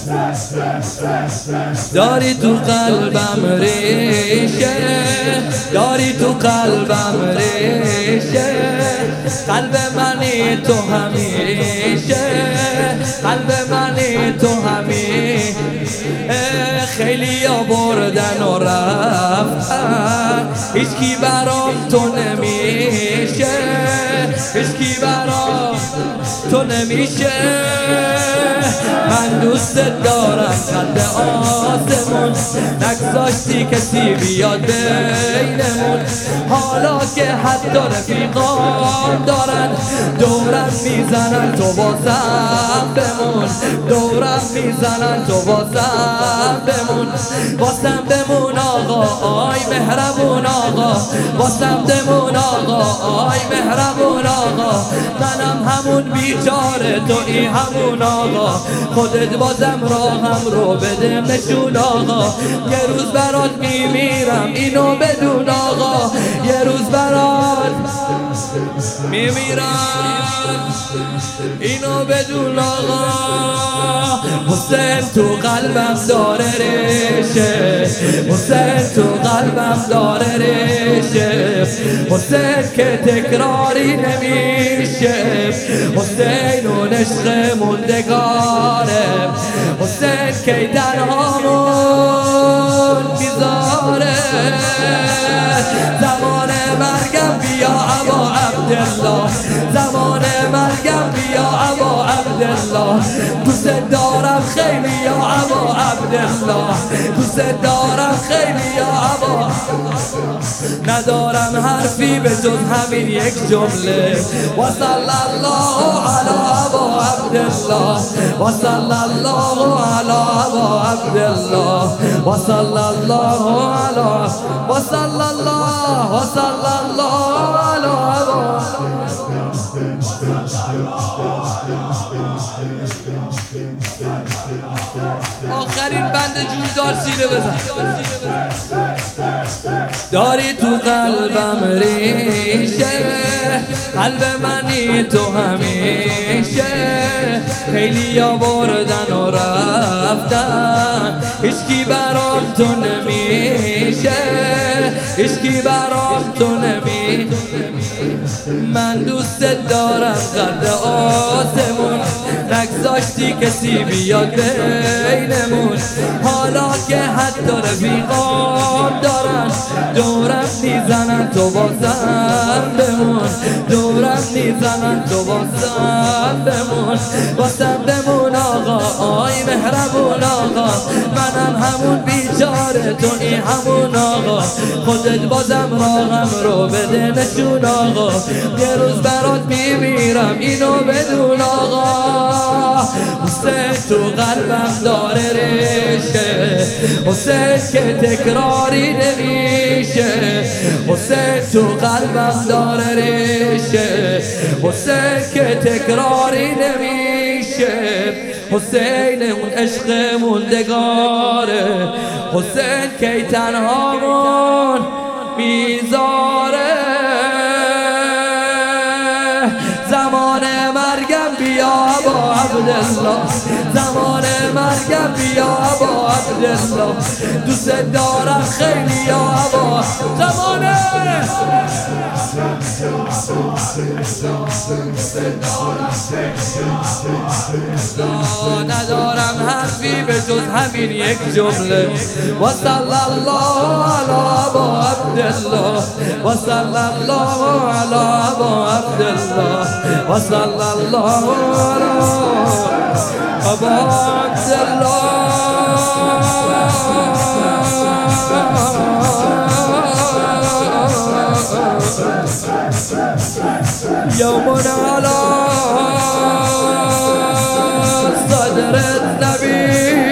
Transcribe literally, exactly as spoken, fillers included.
داری تو قلبم ریشه، داری تو قلبم ریشه، قلب منی تو همیشه، قلب منی تو همیشه. خیلی آوردن و رفتن، هیچکی برام تو نمیشه، هیچکی برام تو نمیشه. من دوست دارم قد آسمون، نگذاشتی کسی بیاد بینمون. حالا که حتی رفیقان دارن دورم میزنن تو واسم بمون، دورم میزنن تو واسم بمون، واسم بمون آقا آی مهربون آقا، واسم بمون آقا آی مهربون آقا. منم همون بیچاره تویی همون آقا، خودت بازم راهم رو بده نشون آقا. یه روز برات میمیرم اینو بدون آقا، یه روز برات میمیرم اینو بدون آقا. حسین تو قلبم داره ریشه، حسین تو قلبم داره ریشه، حسین که تکراری نمیشه، حسین اون عشق موندگاره، حسین که تنهامون میذاره. زمان مرگم بیا ابا عبدالله، زمان مرگم بیا ابا عبدالله. دوست دارم خیلی یا ابا عبدالله، دوست دارم خیلی یا ابا. ندارم حرفی به جز همین یک جمله، و صلی الله علی ابا عبدالله، و صلی الله علی ابا عبدالله، و صلی الله علی، و صلی الله، و صلی الله علی ابا. آخرین بند جوردار سینه بزن. داری تو قلبم ریشه، قلب منی تو همیشه. خیلی آوردن و رفتن، هیچکی برام تو نمیشه، هیچکی برام تو نمیشه. من دوست دارم قد آسمون، نگذاشتی کسی بیاد بینمون. حالا که حتی رفیقان دارن دورم میزنن تو واسم بمون، دورم میزنن تو واسم بمون، واسم بمون آقا آی مهربون آقا. منم همون بیچاره تویی همون آقا، خودت بازم راهم رو بده نشون آقا. یه روز برات میمیرم اینو بدون آقا. حسین تو قلبم داره ریشه، حسین که تکراری نمیشه، حسین تو قلبم داره ریشه، حسین که تکراری نمیشه. حسین اون عشق موندگاره، حسین که تنهامون میذاره. زمان مرگم بیا ابا عبدالله، زمان مرگم بیا ابا عبدالله. دوست دارم خیلی یا ابا زمانه. ندارم حرفی به جز همین یک جمله، و صلی الله علی ابا عبدالله، و صلی الله علی ابا عبدالله، و صلی الله علی ابا عبدالله. يوم على صدر النبي